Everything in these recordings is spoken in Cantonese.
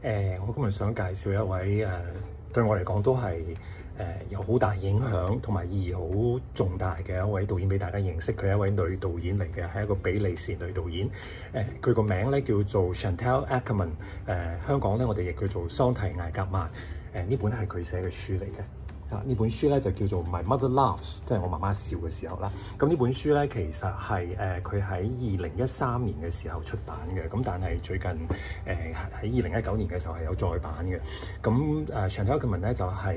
我今日想介紹一位對我嚟講都係有好大影響同埋意義好重大嘅一位導演俾大家認識。佢係一位女導演嚟嘅，係一個比利時女導演。佢個名咧叫做 Chantal Akerman。香港咧我哋亦叫做桑提艾格曼。呢本係佢寫嘅書嚟嘅。呢本書咧就叫做 My Mother Laughs， 即係我媽媽笑嘅時候啦。咁呢本書咧其實係佢喺2013年嘅時候出版嘅，咁但係最近喺2019年嘅時候係有再版嘅。咁Chantal Akerman咧就係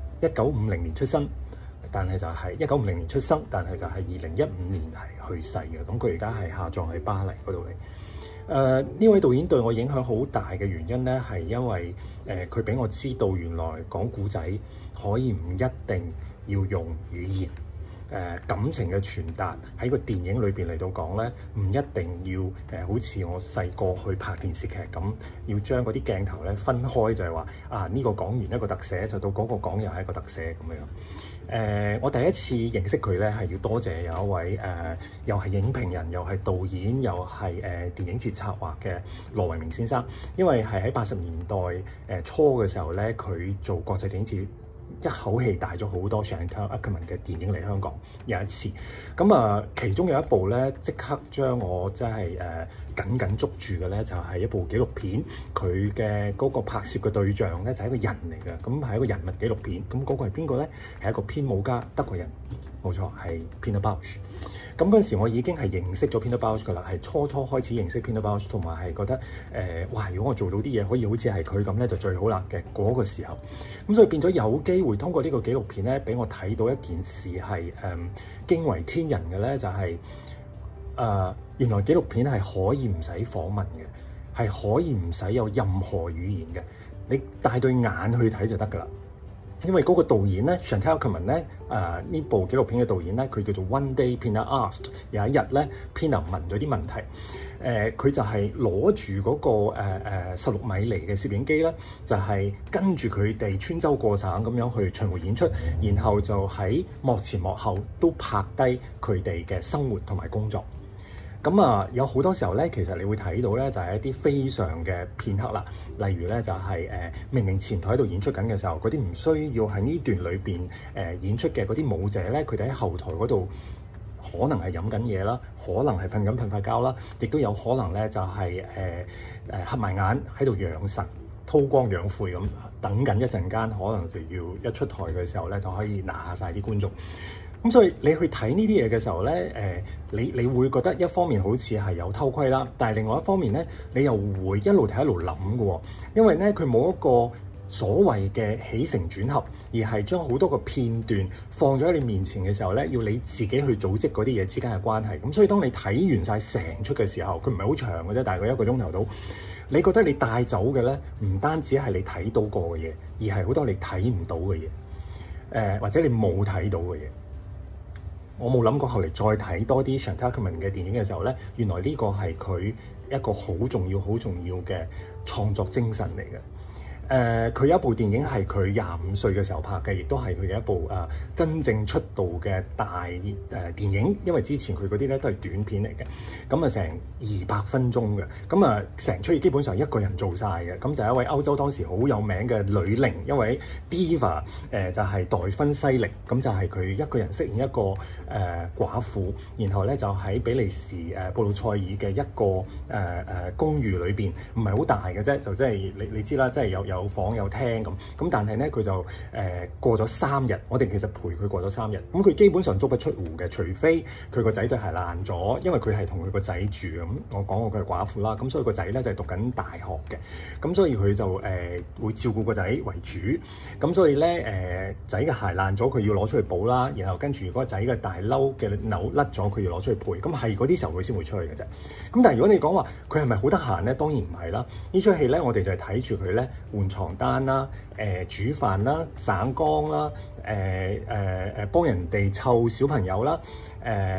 1950年出生，但係就係1950年出生，但係就係2015年係去世嘅。咁佢而家係下葬喺巴黎嗰度嚟。呢位導演對我影響好大嘅原因咧，係因為佢俾我知道原來講故仔可以唔一定要用語言，感情嘅傳達喺個電影裏邊嚟到講咧，唔一定要好似我細個去拍電視劇咁，要將嗰啲鏡頭咧分開，就係話呢個講完一個特寫，就到嗰個講又係一個特寫咁樣。我第一次認識佢咧，係要多謝有一位又係影評人，又係導演，又係電影節策劃嘅羅維明先生。因為係喺80年代初嘅時候咧，佢做國際電影節，一口氣帶咗好多 Chantal Akerman 嘅電影嚟香港。有一次，咁其中有一部咧，即刻將我真係緊緊捉住嘅咧，就係一部紀錄片。佢嘅嗰個拍攝嘅對象咧，就係一個人嚟嘅，咁係一個人物紀錄片。咁嗰個係邊個咧？係一個編舞家，德國人，冇錯，係 Pina Bausch。咁嗰陣時我已經係認識咗 Pina Bausch 㗎啦，係初開始認識 Pina Bausch，同埋係覺得哇！如果我做到啲嘢可以好似係佢咁咧，就最好啦嘅嗰個時候。咁所以變咗有機會通過呢個紀錄片咧，俾我睇到一件事係驚為天人嘅咧，就係原來紀錄片係可以唔使訪問嘅，係可以唔使有任何語言嘅，你帶對眼去睇就得㗎啦。因為嗰個導演咧 Chantal Akerman 咧，呢部紀錄片嘅導演咧，佢叫做 One Day Pina Asked。有一日咧 Pina 問咗啲問題，佢就係攞住嗰個16米厘嘅攝影機咧，就係跟住佢哋穿州過省咁樣去巡迴演出，然後就喺幕前幕後都拍低佢哋嘅生活同埋工作。咁有好多時候咧，其實你會睇到咧，就係一啲非常嘅片刻啦。例如咧，就係明明前台喺度演出緊嘅時候，嗰啲唔需要喺呢段裏邊演出嘅嗰啲舞者咧，佢哋喺後台嗰度可能係飲緊嘢啦，可能係噴塊膠啦，亦都有可能咧就係合埋眼喺度養神、韜光養晦咁，等緊一陣間，可能就要一出台嘅時候咧，就可以拿下晒啲觀眾。咁所以你去睇呢啲嘢嘅時候咧，你會覺得一方面好似係有偷窺啦，但係另外一方面咧，你又會一路睇一路諗嘅喎，因為咧佢冇一個所謂嘅起承轉合，而係將好多個片段放咗喺你面前嘅時候咧，要你自己去組織嗰啲嘢之間嘅關係。咁所以當你睇完晒成出嘅時候，佢唔係好長嘅啫，大概1個鐘頭到。你覺得你帶走嘅咧，唔單止係你睇到過嘅嘢，而係好多你睇唔到嘅嘢，或者你冇睇到嘅嘢。我冇諗過後嚟再睇多啲 Chantal Akerman 嘅電影嘅時候咧，原來呢個係佢一個好重要嘅創作精神嚟嘅。佢有一部電影係佢25歲嘅時候拍嘅，亦都係佢嘅一部真正出道嘅大電影。因為之前佢嗰啲咧都係短片嚟嘅，咁成200分鐘嘅，咁成出戲基本上一個人做晒嘅。咁就係一位歐洲當時好有名嘅女伶，一位 diva， 就係黛芬西力。咁就係佢一個人飾演一個寡婦，然後咧就喺比利時布魯塞爾嘅一個公寓裏邊，唔係好大嘅啫，就即係你知啦，即係有房有廳咁，但係咧佢就過咗3日，我哋其實陪佢過咗3日，咁佢基本上足不出戶嘅，除非佢個仔對鞋爛咗，因為佢係同佢個仔住咁。我講過佢係寡婦啦，咁所以個仔咧就係讀緊大學嘅，咁所以佢就會照顧個仔為主，咁所以咧仔嘅鞋爛咗，佢要攞出去補啦，然後跟住如果仔嘅大褸嘅紐甩咗，佢要攞出去配，咁係嗰啲時候佢先會出去嘅啫。咁但係如果你講話佢係咪好得閒咧？當然唔係啦。呢出戲咧，我哋就係睇住佢咧換床單啦、煮飯啦、省缸啦、幫人哋湊小朋友啦、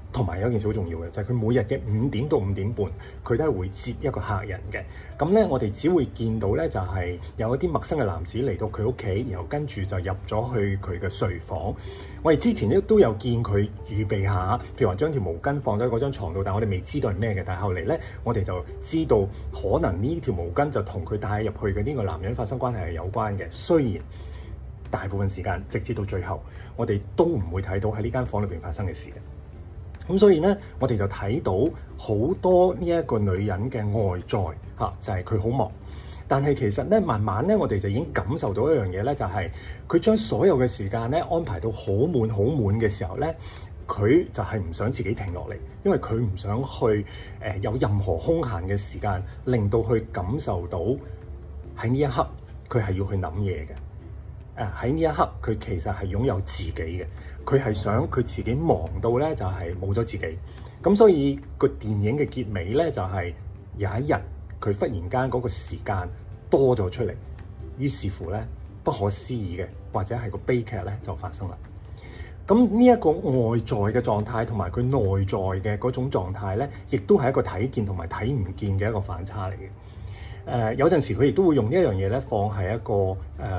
同埋有一件事好重要嘅，就係佢每日嘅5點到5點半，佢都係會接一個客人嘅。咁咧，我哋只會見到咧，就係有一啲陌生嘅男子嚟到佢屋企，然後跟住就入咗去佢嘅睡房。我哋之前都有見佢預備下，譬如話將條毛巾放咗喺嗰張牀度，但係我哋未知道係咩嘅。但係後嚟咧，我哋就知道可能呢條毛巾就同佢帶入去嘅呢個男人發生關係係有關嘅。雖然大部分時間直至到最後，我哋都唔會睇到喺呢間房裏邊發生嘅事嘅。咁所以咧，我哋就睇到好多呢一個女人嘅外在嚇，就係佢好忙。但係其實咧，慢慢咧，我哋就已經感受到一樣嘢咧，就係佢將所有嘅時間咧安排到好滿好滿嘅時候咧，佢就係唔想自己停落嚟，因為佢唔想去有任何空閒嘅時間，令到佢感受到喺呢一刻佢係要去諗嘢嘅。喺呢一刻，佢其實係擁有自己嘅，佢係想佢自己忙到咧，就係冇咗自己。咁所以個電影嘅結尾咧，就係有一日佢忽然間嗰個時間多咗出嚟，於是乎咧，不可思議嘅或者係個悲劇咧就發生啦。咁呢一個外在嘅狀態同埋佢內在嘅嗰種狀態咧，亦都係一個睇見同埋睇唔見嘅一個反差嚟嘅。有陣時佢亦都會用呢一樣嘢咧，放喺一個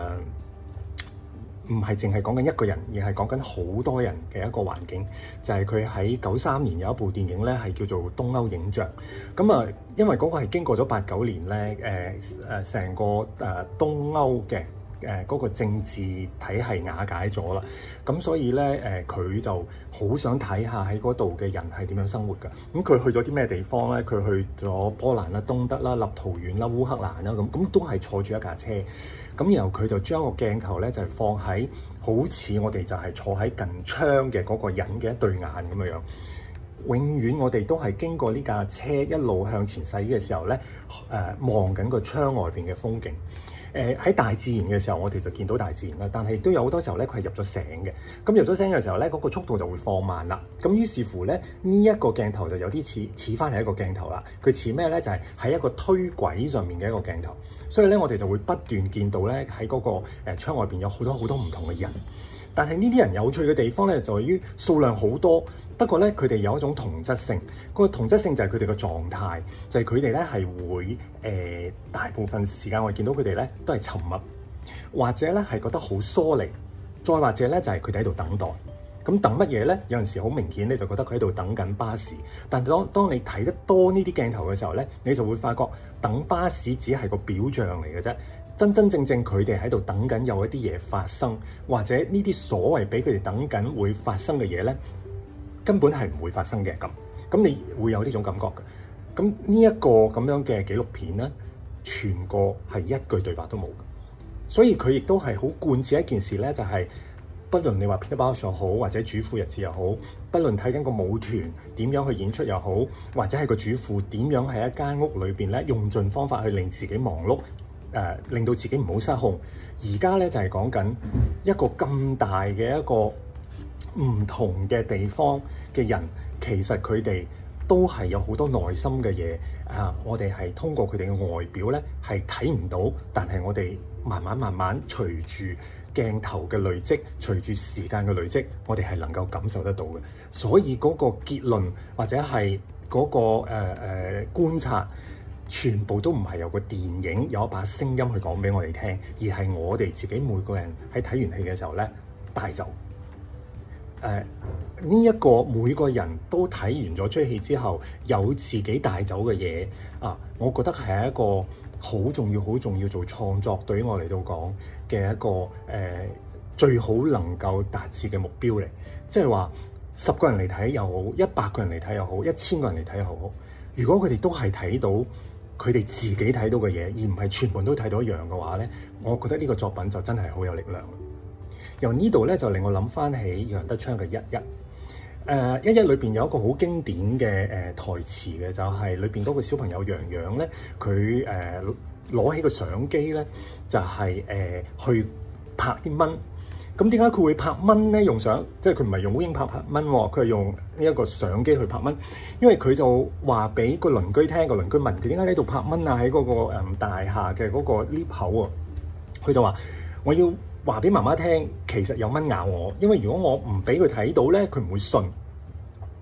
唔係淨係講緊一個人，而係講緊好多人嘅一個環境。就係佢喺93年有一部電影咧，係叫做《東歐影像》。咁啊，因為嗰個係經過咗89年咧，成個東歐嘅嗰個政治體系瓦解咗啦。咁所以咧，佢就好想睇下喺嗰度嘅人係點樣生活㗎。咁佢去咗啲咩地方咧？佢去咗波蘭啦、東德啦、立陶宛啦、烏克蘭啦，咁都係坐住一架車。咁然後佢就將個鏡頭咧就係放喺好似我哋就係坐喺近窗嘅嗰個人嘅一對眼咁樣樣。永遠我哋都係經過呢架車一路向前駛嘅時候咧，望緊個窗外邊嘅風景。喺大自然嘅時候，我哋就見到大自然啦。但係亦都有好多時候咧，佢係入咗醒嘅。咁入咗醒嘅時候咧，嗰個速度就會放慢啦。咁於是乎咧，呢一個鏡頭就有啲似翻係一個鏡頭啦。佢似咩咧？就係喺一個推軌上面嘅一個鏡頭。所以咧，我哋就會不斷見到咧喺嗰個窗外邊有好多好多唔同嘅人。但係呢啲人有趣嘅地方咧，就在於數量好多。不過咧，佢哋有一種同質性。個同質性就係佢哋嘅狀態，就係佢哋咧係會大部分時間我見到佢哋咧都係沉默，或者咧係覺得好疏離，再或者咧就係佢哋喺度等待。咁等乜嘢咧？有陣時好明顯，你就覺得佢喺度等緊巴士。但當你睇得多呢啲鏡頭嘅時候咧，你就會發覺等巴士只係個表象嚟嘅啫。真真正正佢哋喺度等緊有一啲嘢發生，或者呢啲所謂俾佢哋等緊會發生嘅嘢咧，根本係唔會發生嘅。咁你會有呢種感覺嘅。咁呢一個咁樣嘅紀錄片咧，全個係一句對白都冇嘅。所以佢亦都係好貫徹一件事咧，就係不論你話 Peter Bausch 又好，或者主婦日誌又好，不論睇緊個舞團點樣去演出又好，或者係個主婦點樣喺一間屋裏邊咧用盡方法去令自己忙碌，令到自己唔好失控。而家咧就係講緊一個咁大嘅一個唔同嘅地方嘅人，其實佢哋都係有好多內心嘅嘢啊！我哋係通過佢哋嘅外表咧係睇唔到，但係我哋慢慢隨住鏡頭嘅累積，隨住時間嘅累積，我哋係能夠感受得到嘅。所以嗰個結論或者係嗰個觀察，全部都唔係有個電影有一把聲音去講俾我哋聽，而係我哋自己每個人喺睇完戲嘅時候咧帶走。呢一個每個人都睇完咗出戲之後，有自己帶走嘅嘢啊，我覺得係一個好重要、好重要做創作對於我嚟到講嘅一個最好能夠達至嘅目標嚟。即係話10個人嚟睇又好，100個人嚟睇又好，1000個人嚟睇又好，如果佢哋都係睇到佢哋自己睇到嘅嘢，而唔係全部都睇到一樣嘅話咧，我覺得呢個作品就真係好有力量。由呢度咧就令我諗翻起楊德昌嘅《一一》。《一一》裏邊有一個好經典嘅台詞嘅，就係裏邊嗰個小朋友洋洋咧，佢攞起個相機咧，就係去拍啲蚊。咁點解佢會拍蚊咧？用相即係佢唔係用烏蠅拍蚊喎，佢係用呢一個相機去拍蚊。因為佢就話俾個鄰居聽，個鄰居問佢點解喺度拍蚊啊？喺嗰個大廈嘅嗰個 lift 口啊，佢就話我要話俾媽媽聽，其實有蚊咬我，因為如果我唔俾佢睇到咧，佢唔會信。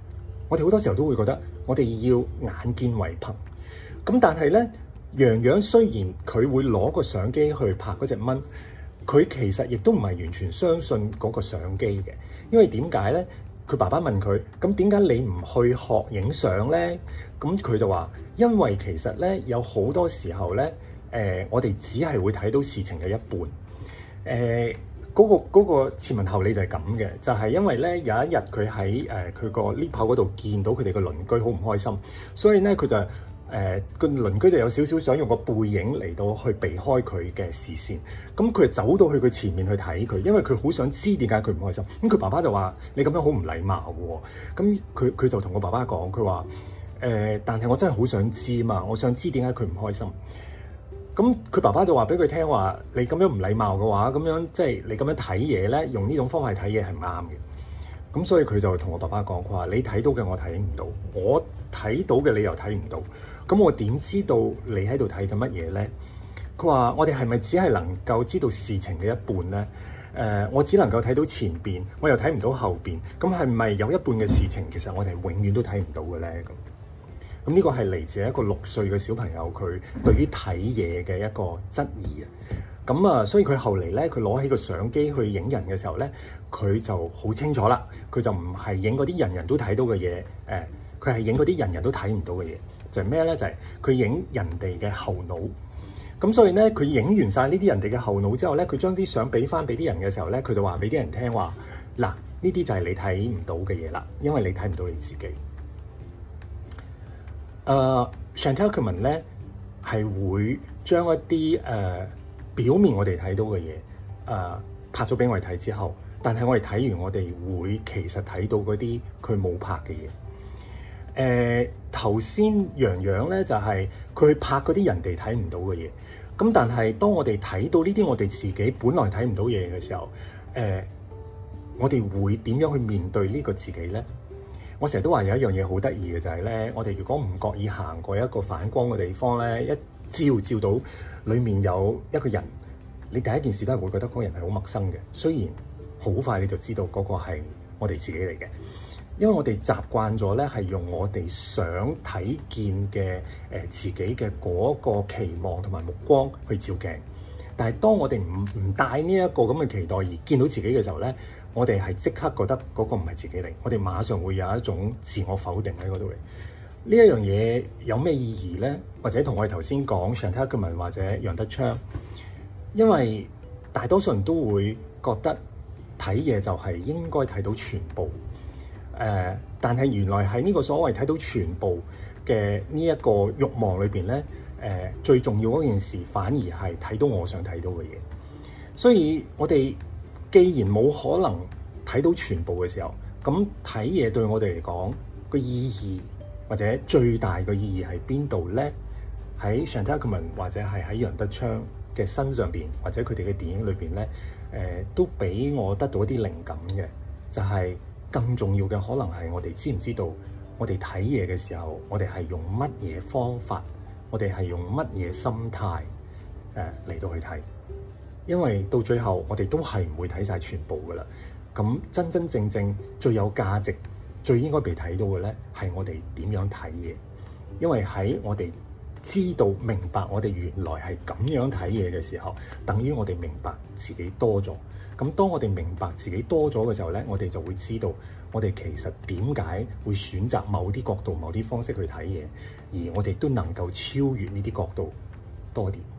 我哋好多時候都會覺得我哋要眼見為憑。咁但係咧，洋洋雖然佢會攞個相機去拍嗰隻蚊，佢其實亦都唔係完全相信嗰個相機嘅，因為點解咧？佢爸爸問佢：咁點解你唔去學影相咧？咁佢就話：因為其實咧有好多時候咧，我哋只係會睇到事情嘅一半。嗰個前文後理就係咁嘅，就係因為咧有一日佢喺佢個 lift 口嗰度見到佢哋個鄰居好唔開心，所以咧佢就個鄰居就有少少想用個背影嚟到去避開佢嘅視線，咁佢就走到去佢前面去睇佢，因為佢好想知點解佢唔開心。咁佢爸爸就話：你咁樣好唔禮貌喎。咁佢就同個爸爸講，佢話：但係我真係好想知嘛，我想知點解佢唔開心。咁佢爸爸就話俾佢聽話：你咁樣唔禮貌嘅話，咁樣即係你咁樣睇嘢咧，用呢種方法睇嘢係唔啱嘅。咁所以佢就同我爸爸講：佢話你睇到嘅我睇唔到，我睇到嘅你又睇唔到。咁我點知道你喺度睇緊乜嘢咧？佢話：我哋係咪只係能夠知道事情嘅一半咧？我只能夠睇到前邊，我又睇唔到後邊。咁係咪有一半嘅事情，其實我哋永遠都睇唔到嘅咧？咁呢個係嚟自一個6歲嘅小朋友，佢對於睇嘢嘅一個質疑啊。咁啊，所以佢後嚟咧，佢攞起個相機去影人嘅時候咧，佢就好清楚啦。佢就唔係影嗰啲人人都睇到嘅嘢，佢係影嗰啲人人都睇唔到嘅嘢。就係咩咧？就係佢影人哋嘅後腦。咁所以咧，佢影完晒呢啲人哋嘅後腦之後咧，佢將啲相俾翻俾啲人嘅時候咧，佢就話俾啲人聽話：嗱，呢啲就係你睇唔到嘅嘢啦，因為你睇唔到你自己。Chantal Ackerman 咧係會將一啲表面我哋睇到嘅嘢拍咗俾我哋睇之後，但係我哋睇完我哋會其實睇到嗰啲佢冇拍嘅嘢。頭先洋洋咧就係佢拍嗰啲人哋睇唔到嘅嘢，咁但係當我哋睇到呢啲我哋自己本來睇唔到嘢嘅時候，我哋會點樣去面對呢個自己咧？我成日都話有一樣嘢好得意嘅就係咧，我哋如果唔覺意行過一個反光嘅地方咧，一照到裡面有一個人，你第一件事都係會覺得嗰個人係好陌生嘅。雖然好快你就知道嗰個係我哋自己嚟嘅，因為我哋習慣咗咧係用我哋想睇見嘅自己嘅嗰個期望同埋目光去照鏡。但係當我哋唔帶呢一個咁嘅期待而見到自己嘅時候咧，我哋係即刻覺得嗰個唔係自己嚟，我哋馬上會有一種自我否定喺嗰度嚟。呢一樣嘢有咩意義咧？或者同我哋頭先講 Chantal Ackerman或者楊德昌，因為大多數人都會覺得睇嘢就係應該睇到全部。但係原來喺呢個所謂睇到全部嘅呢一個慾望裏邊咧，最重要嗰件事反而係睇到我想睇到嘅嘢。所以我哋既然冇可能睇到全部嘅時候，咁睇嘢對我哋嚟講個意義或者最大嘅意義係邊度咧？喺 Chantal Ackerman 或者係喺楊德昌嘅身上邊，或者佢哋嘅電影裏邊咧，都俾我得到一啲靈感嘅，就係更重要嘅可能係我哋知唔知道，我哋睇嘢嘅時候，我哋係用乜嘢方法，我哋係用乜嘢心態嚟到去睇。因為到最後我哋都係唔會睇晒全部噶啦，咁真真正正最有價值、最應該被睇到嘅咧，係我哋點樣睇嘢。因為喺我哋知道明白我哋原來係咁樣睇嘢嘅時候，等於我哋明白自己多咗。咁當我哋明白自己多咗嘅時候咧，我哋就會知道我哋其實點解會選擇某啲角度、某啲方式去睇嘢，而我哋都能夠超越呢啲角度多啲。